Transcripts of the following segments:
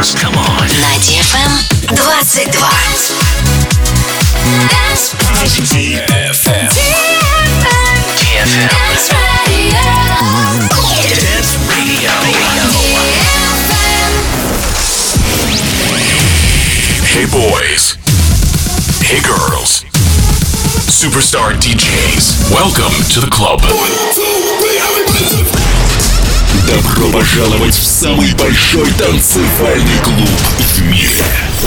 Dance. Come on. На DFM 22. DFM. Dance Radio. Dance Radio. Hey boys. Hey girls. Superstar DJs. Welcome to the club. Добро пожаловать в самый большой танцевальный клуб в мире.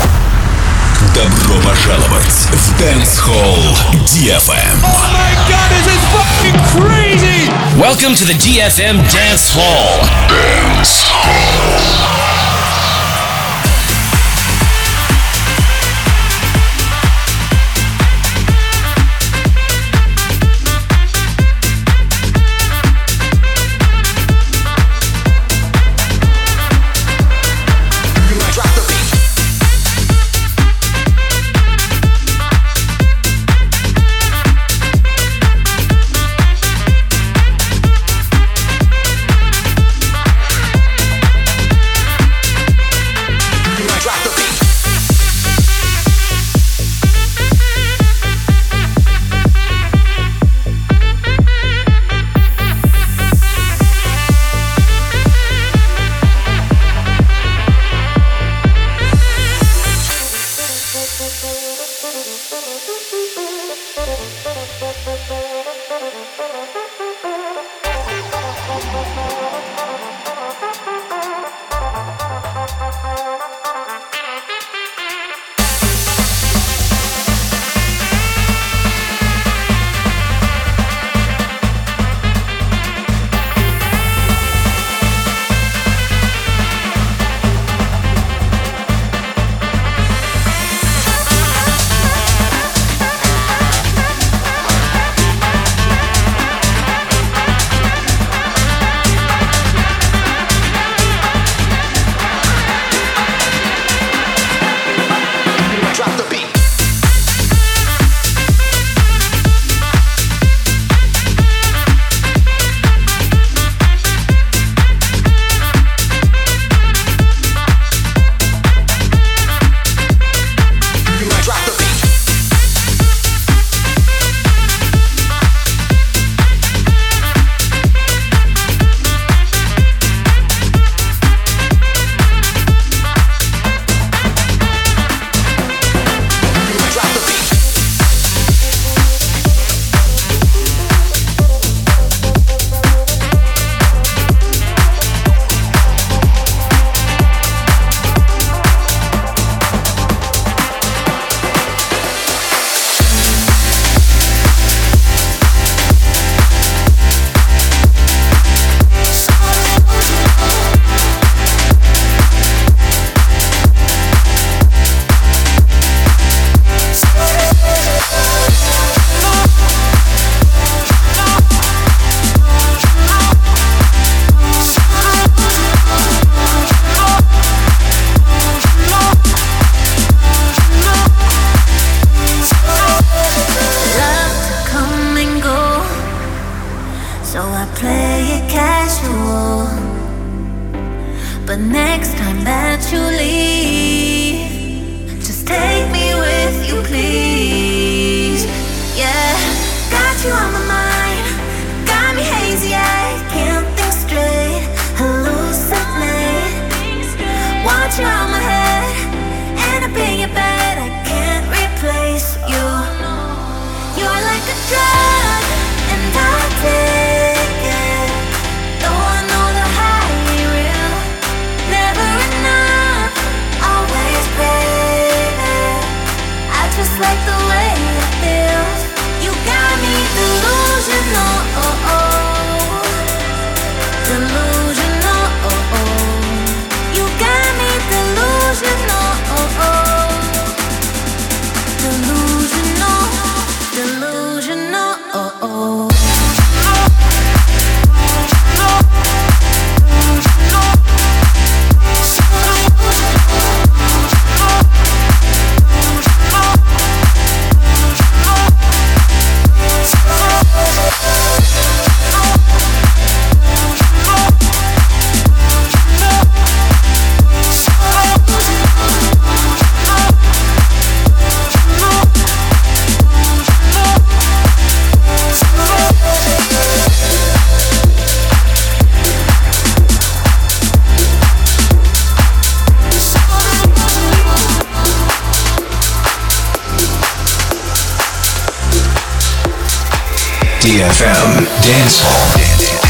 Добро пожаловать в Dance Hall DFM. Oh my God, this is fucking crazy! Welcome to the DFM Dance Hall. Dance Hall. Like the way it feels, you got me through the DFM Dance Hall.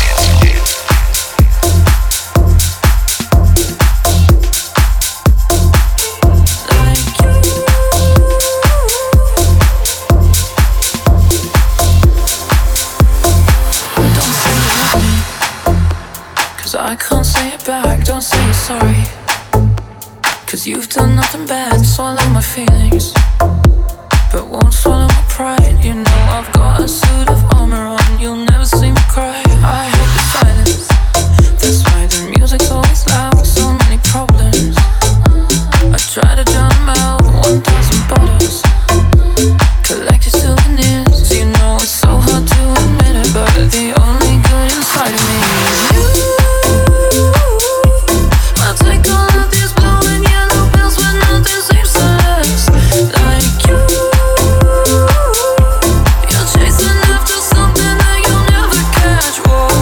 I can't say it back, don't say you're sorry. Cause you've done nothing bad, swallow my feelings, but won't swallow my pride. You know I've got a suit of armor on, you'll never see me cry. I hate the silence, that's why the music's always loud. So many problems, I try to drown them out. 1,000 bottles, collected souvenirs. You know it's so hard to admit it, but the only good inside of me is you. I'll take all of these blue and yellow pills when nothing seems to last like you. You're chasing after something that you'll never catch.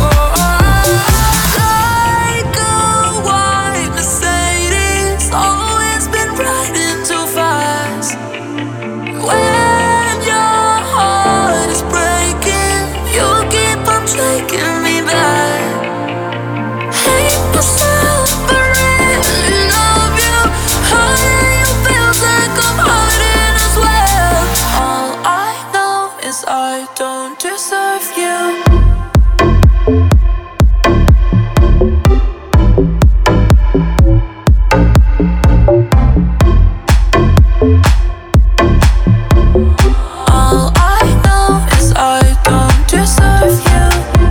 Like a white Mercedes, always been riding too fast. When your heart is breaking, you keep on taking me back. Hate myself, but really love you. Hurting you feels like I'm hurting as well. All I know is I don't deserve you. All I know is I don't deserve you.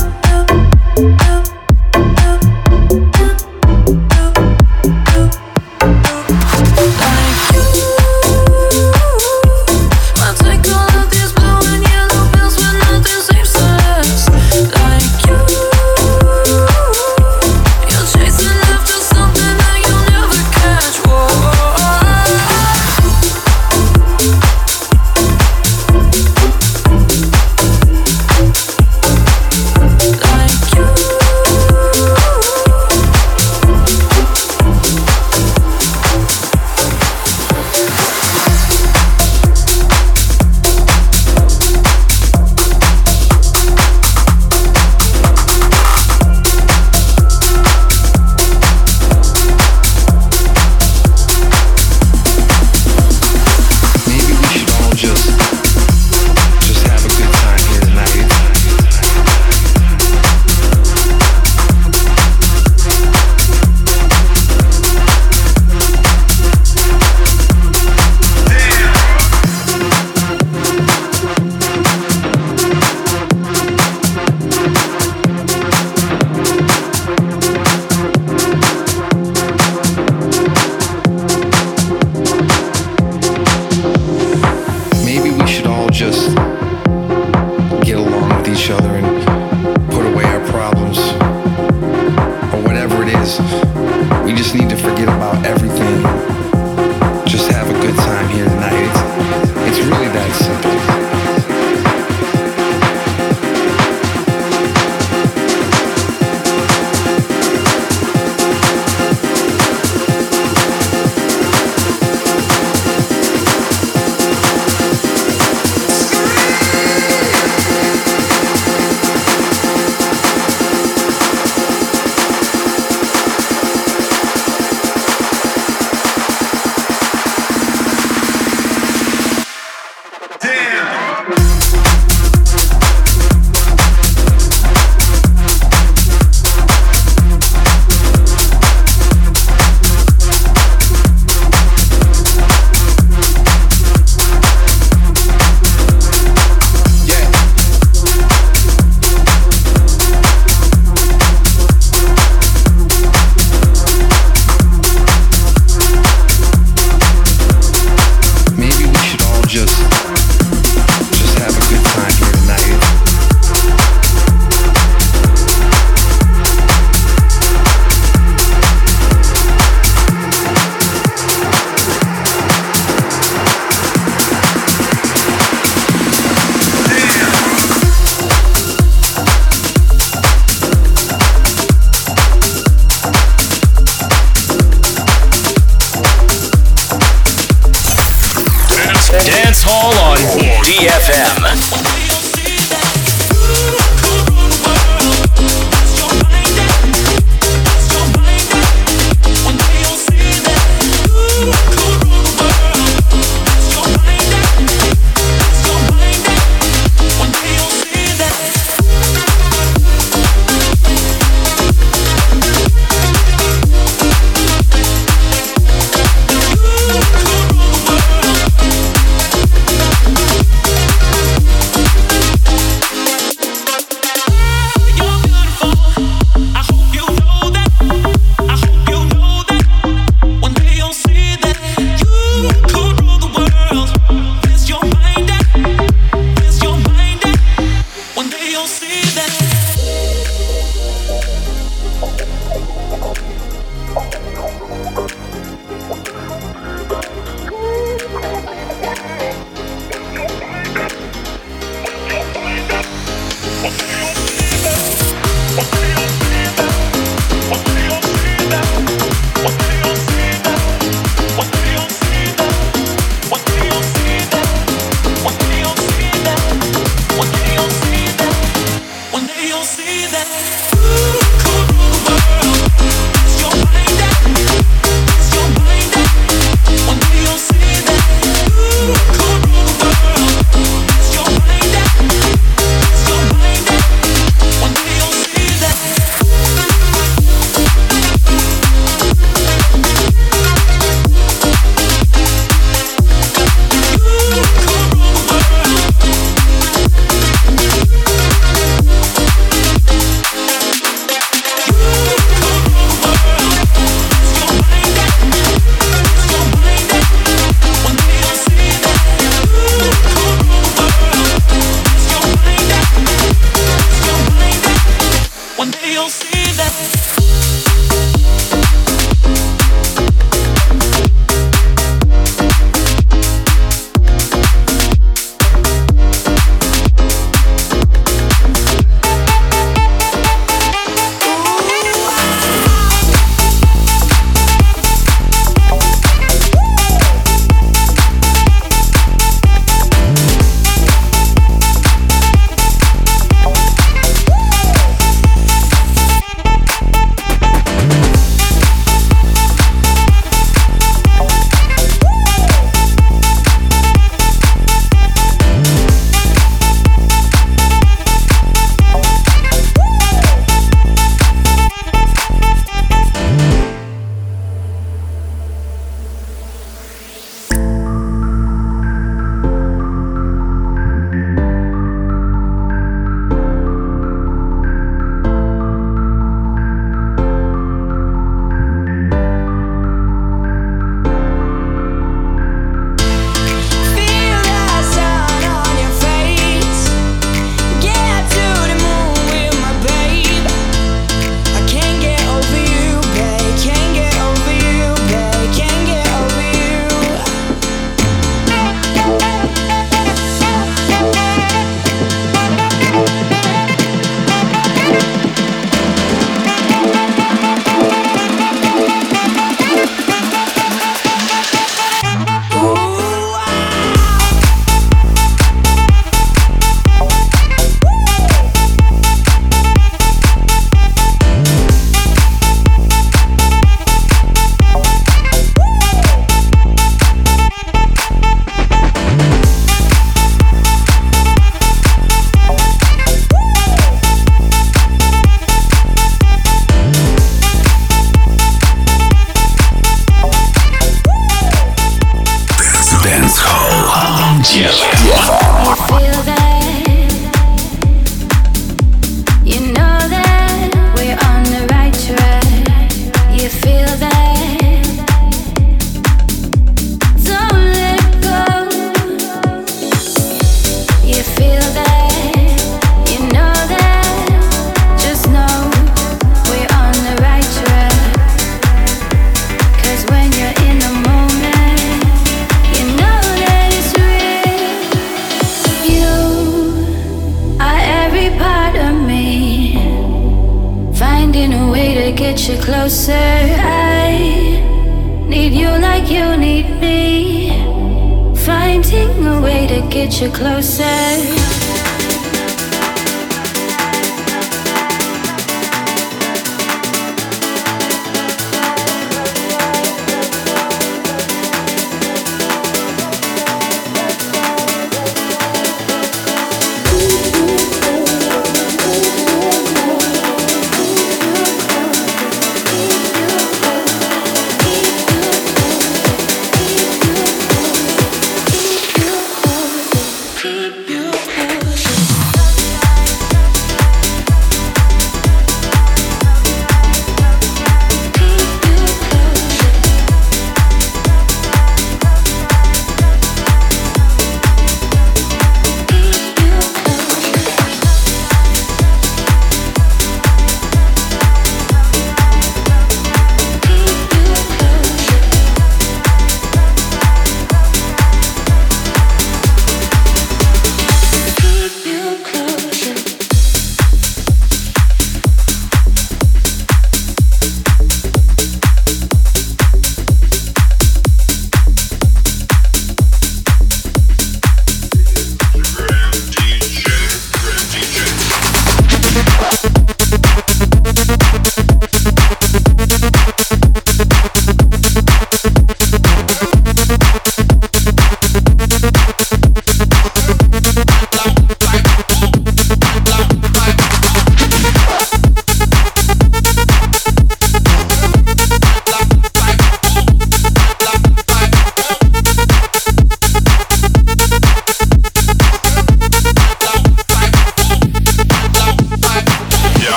Like you, I'll take all of these blue and yellow pills when nothing seems to last like you. You're chasing after something that you'll never catch. Like you. Maybe we should all just have a good time here tonight. Maybe we should all just get along with each other and put away our problems, or whatever it is. We just need to forget about everything. Just have a good time here tonight. It's really that simple. Dance Hall on DFM. you'll see that.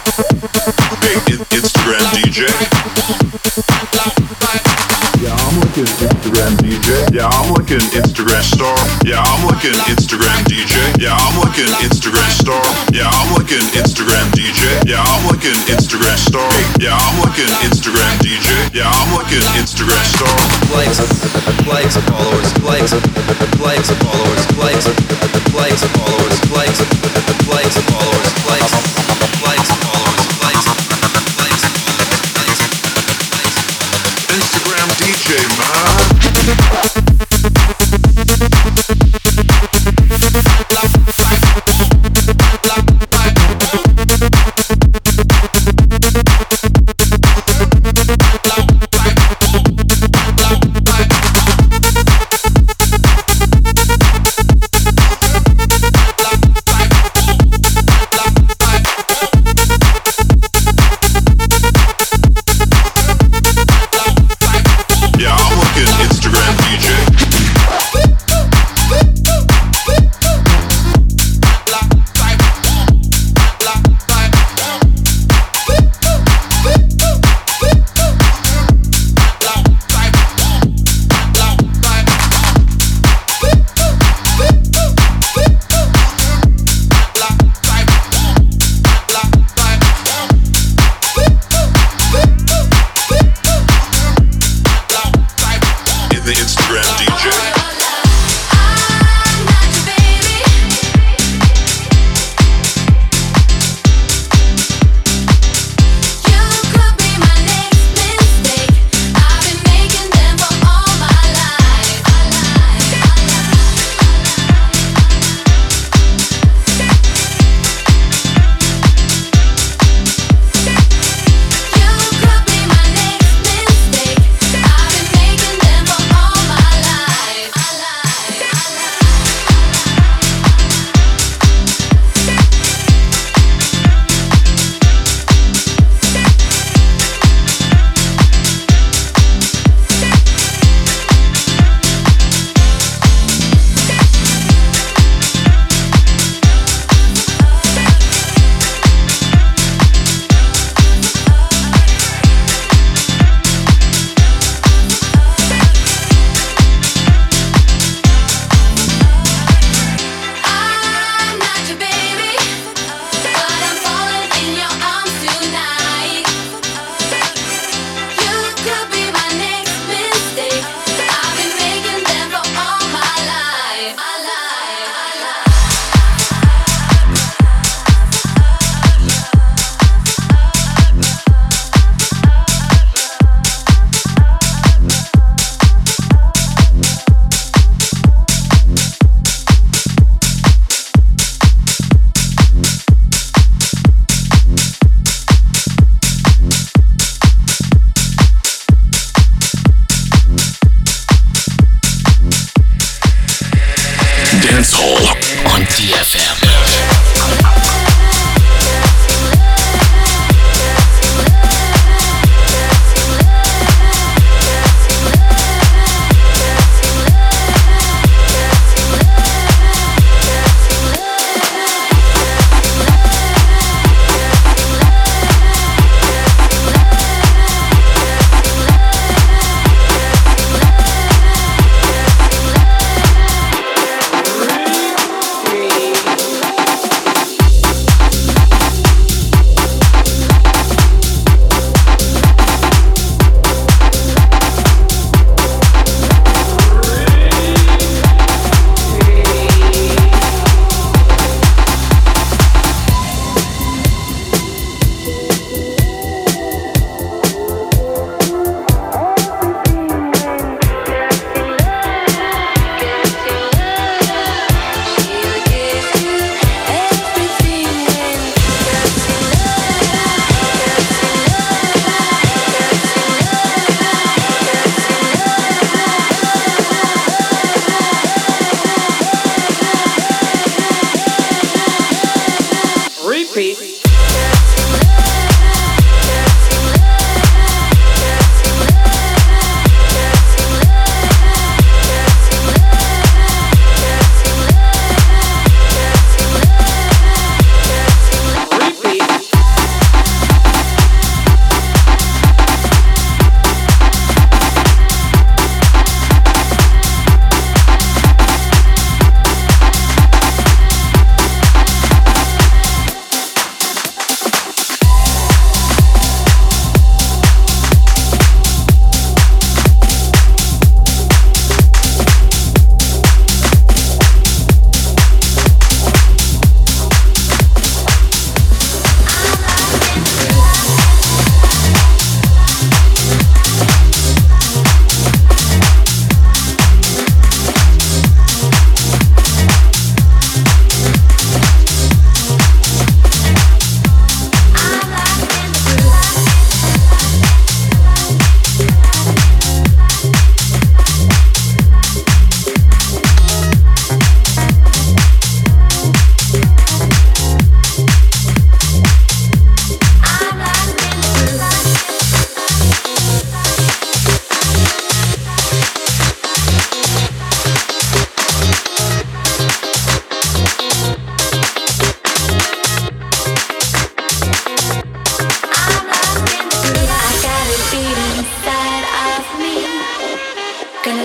Instagram DJ. Yeah, I'm like an Instagram DJ. Yeah, I'm like an Instagram star. Yeah, I'm like an Instagram DJ. Yeah, I'm like an Instagram star. Yeah, I'm like an Instagram DJ. Yeah, I'm like an Instagram star. Yeah, I'm like an Instagram DJ. Yeah, I'm like an Instagram star. Likes, followers, likes, followers, likes, followers, likes, followers, likes, followers, likes. Instagram DJ, man.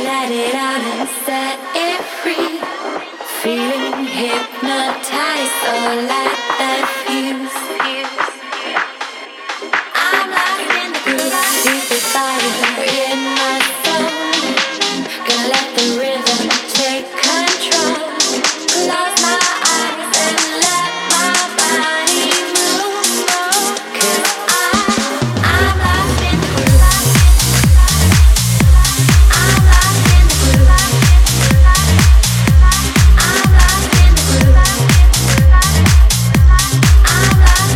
let it out and set it free. Feeling hypnotized, so light that fuse. I'm locked in the groove, deep fire in my soul. Gonna let the rhythm take control. Close my eyes and let my body move. 'Cause I'm locked in the groove. I'm locked in the groove. I'm locked in the groove. I'm locked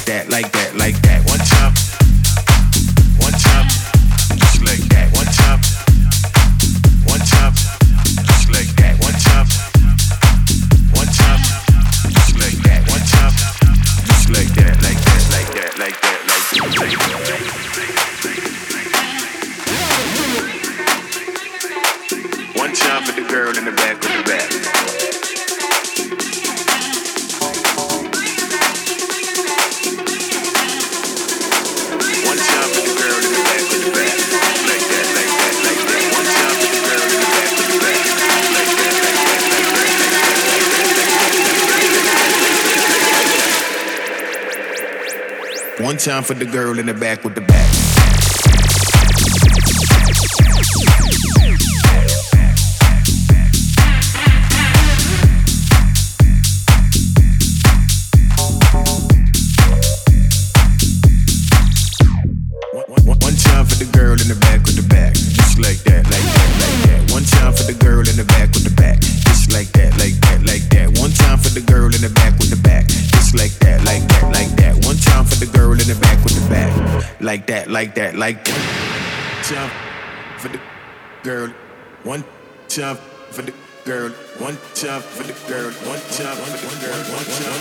like that, like that, like that. One time, just like that. One time, just like that. One time, just like that. One time, just like that, like that, like that, like that, like that. One time for the girl in the back with the back. One time for the girl in the back with the back. Like that, like that, like that. One time for the girl in the back with the back. Like that, like that, like that. One time for the girl in the back with the back. One time for the girl in the back with the back, just like that, like that, like that. One time for the girl in the back with the back, just like that, like that, like that. One time for the girl in the back with the back, just like that, like that, like that. One time for the girl in the back with the back, like that, like that, like that. Time for the girl, one time for the girl, one time for the girl, one time for the girl, one time.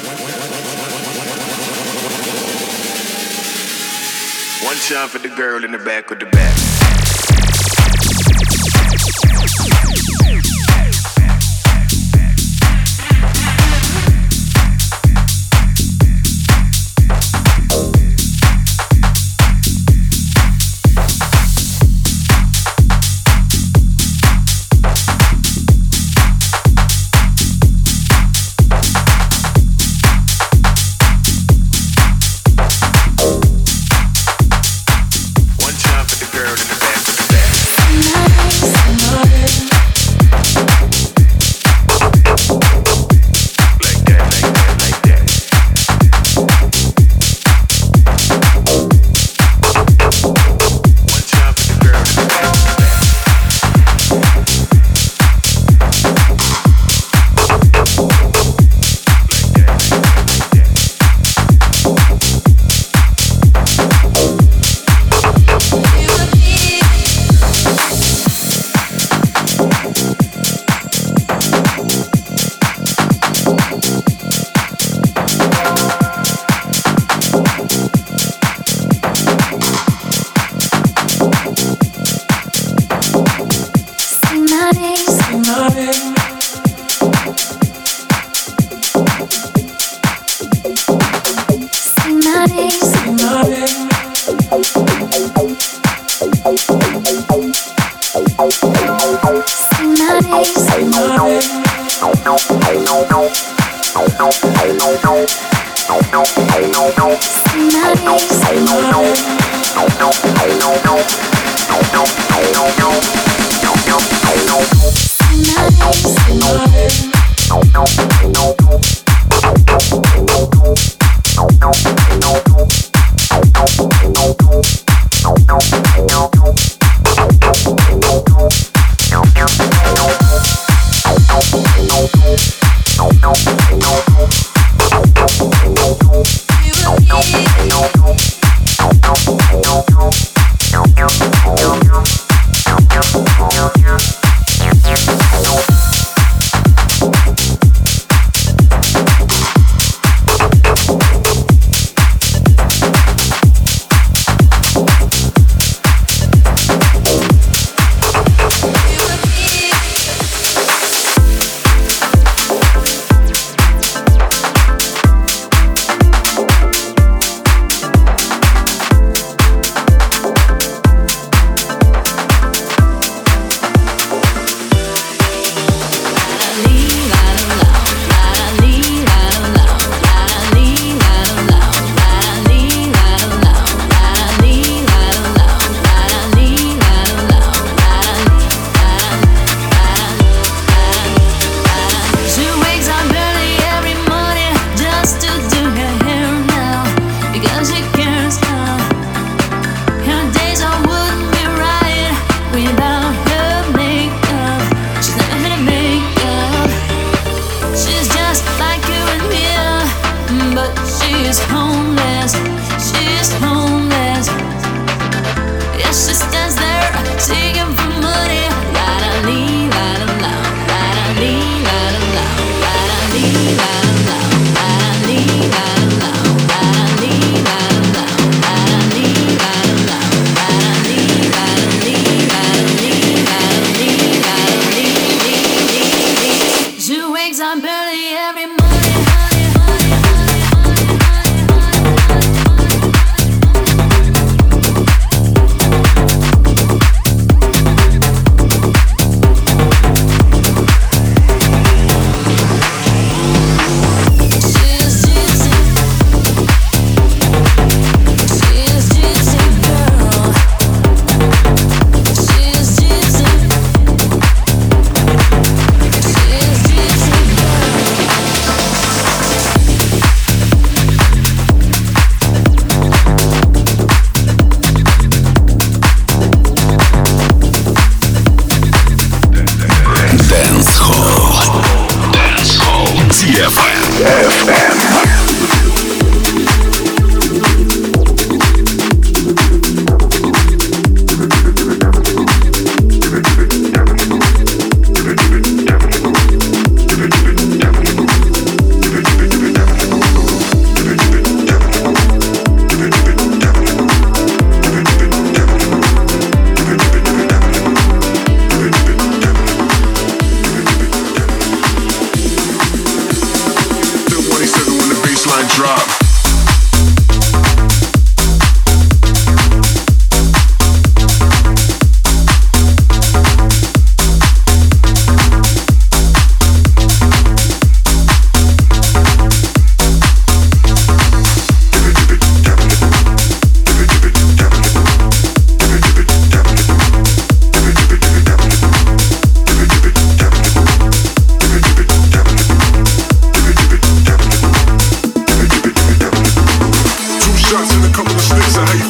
One time for the girl in the back with the back.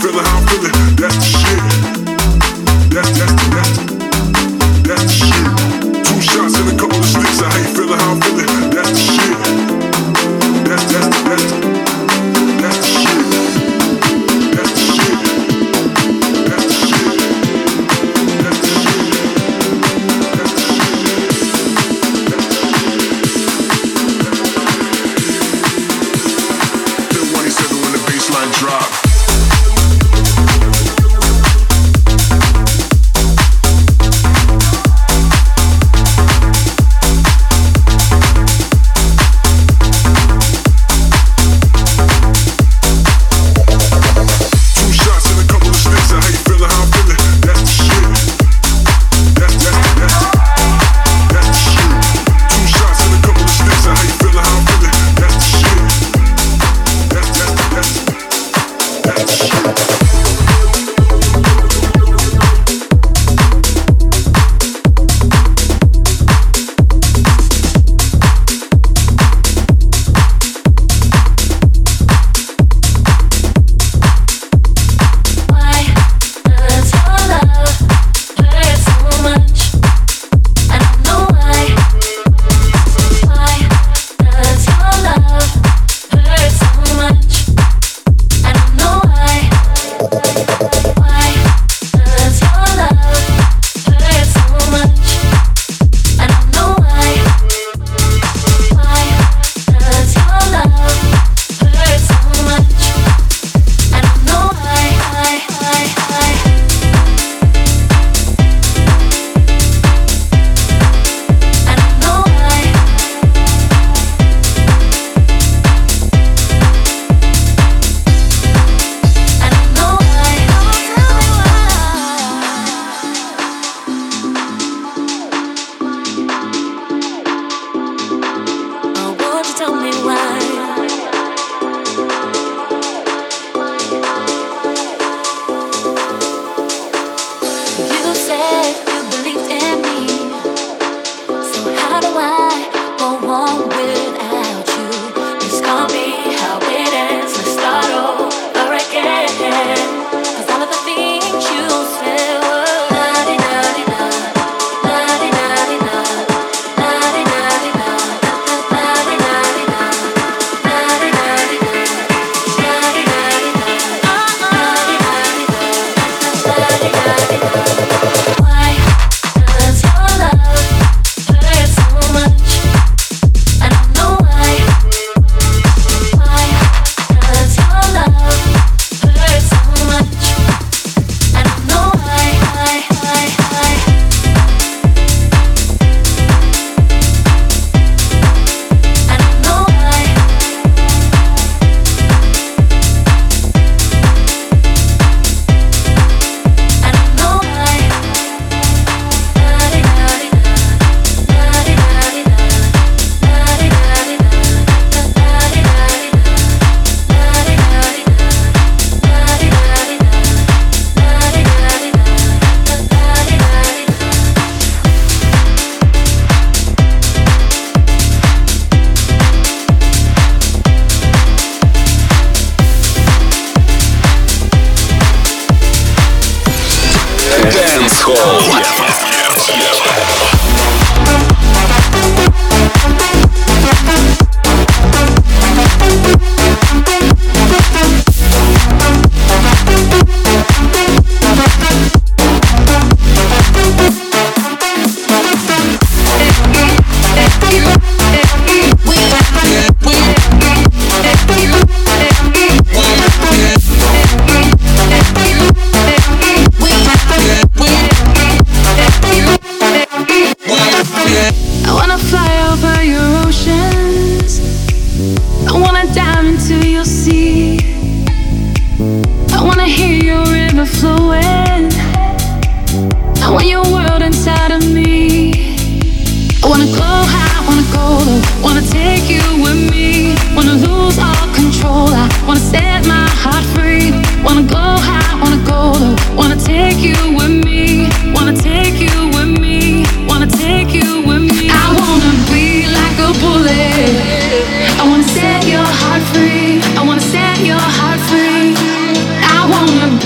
feeling, how I'm feeling. That's the shit. That's the shit. 2 shots and a couple of sticks. How you feeling, how I'm feeling. That's the shit. That's the shit. That's the shit. That's the shit. That's the shit. That's the shit. Then 187 when the baseline drop. I wanna set your heart free. I wanna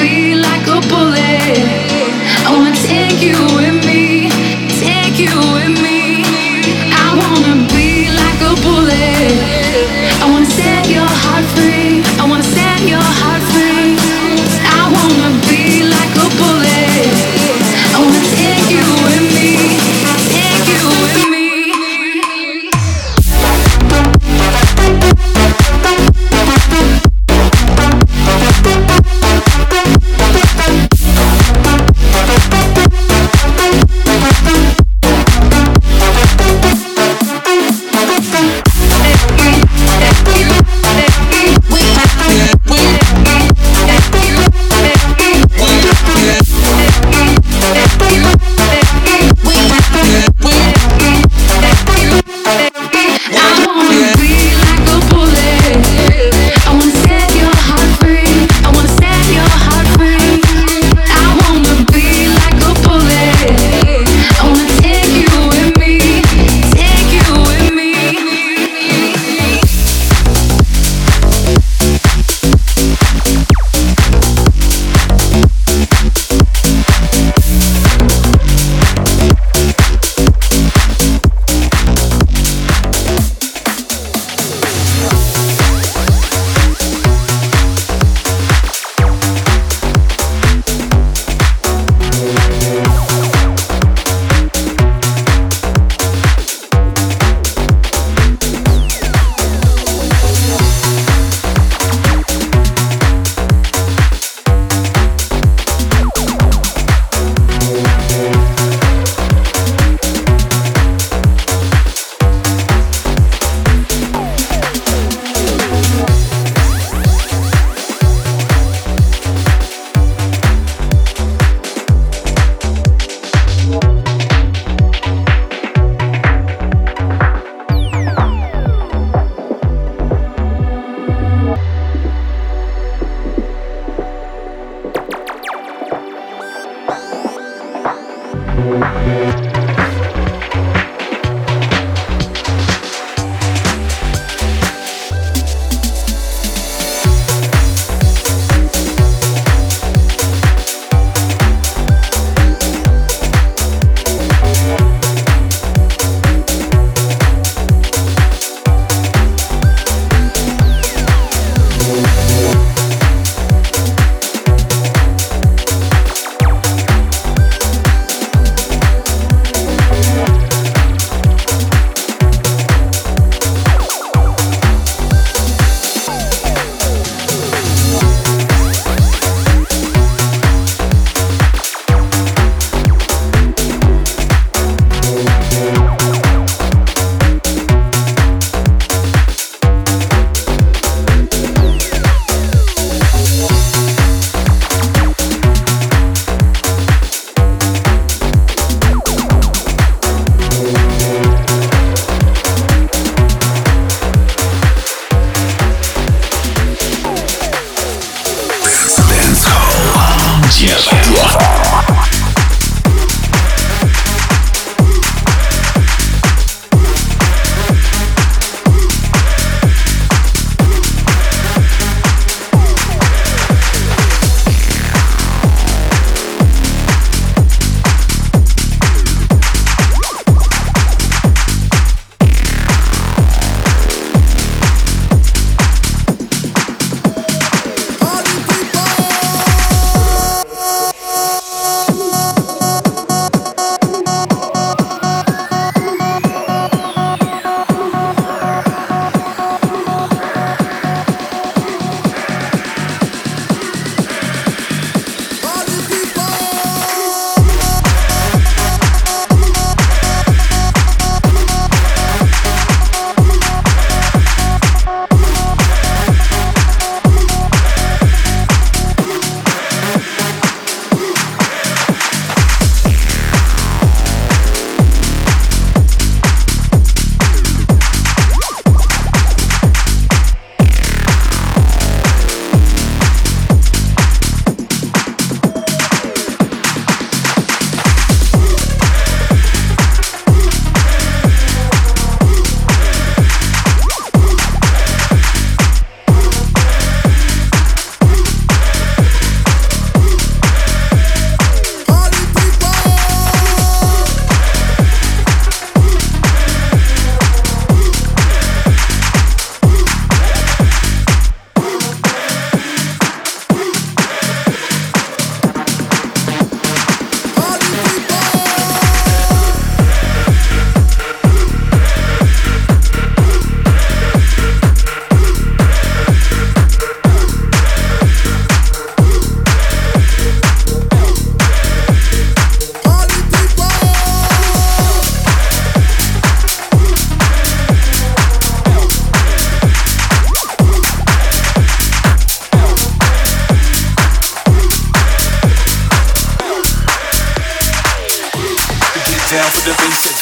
down for the basics.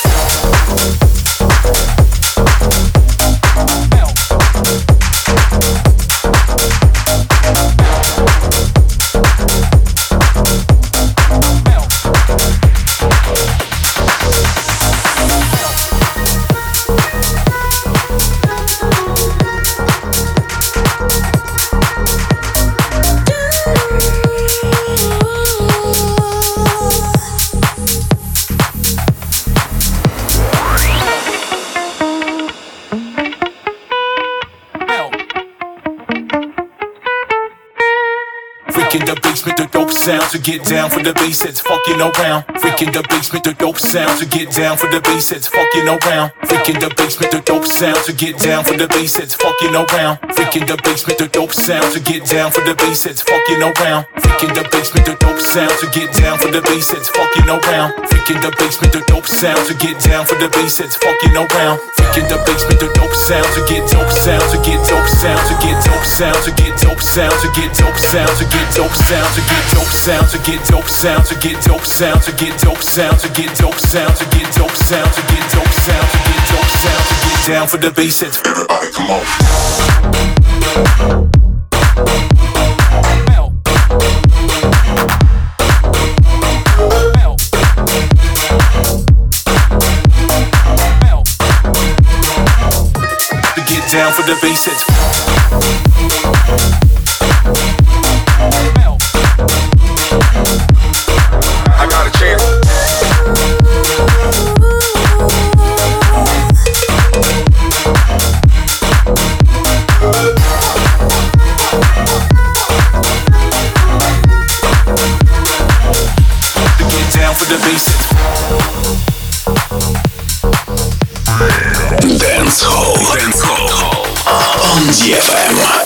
In the basement, the dope sound to get down for the bass that's fucking around. Freak in the basement, the dope sound to get down for the bass that's fucking around. Freak in the basement, the dope sound to get down for the bass that's fucking around. Freak in the basement, the dope sound to get down for the bass that's fucking around. Freak in the basement, the dope sound to get down for the bass that's fucking around. Freak in the basement, the dope sound to get down for the bass that's fucking around. Freak in the basement, the dope sound to get dope sound to get dope sound to get dope sound to get dope sound to get dope sound to get dope sound to get dope sound to get dope sound to get dope sound to get dope sound to get dope sound to get dope sound to get dope sound to get dope sound to get down for the bass. Everybody come on. for the bass hits. I got a chance. To get down for the bass hits. Dance Hall on DFM.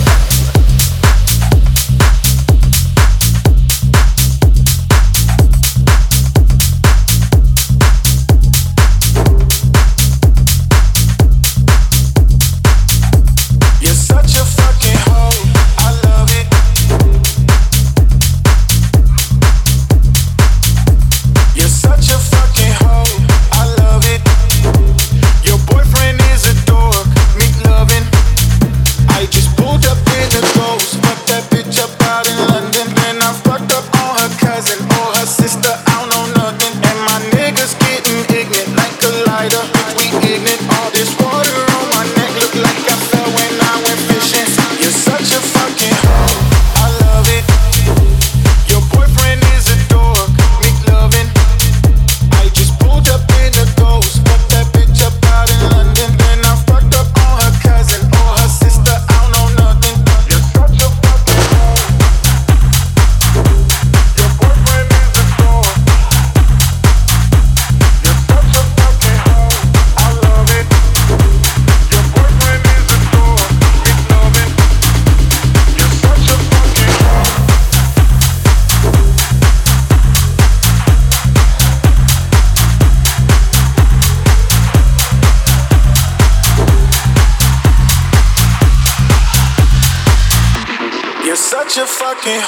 Such a fucking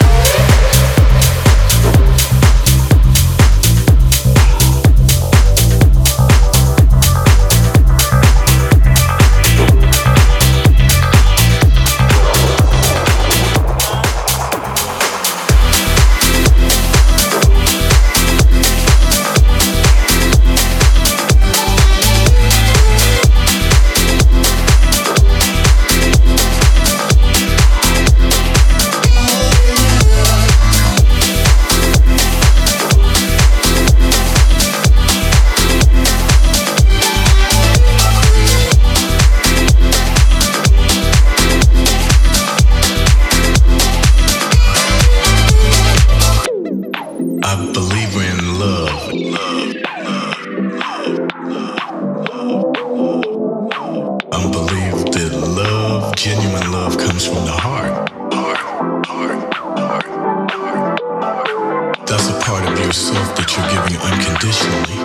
genuine love comes from the heart. That's a part of yourself that you're giving unconditionally.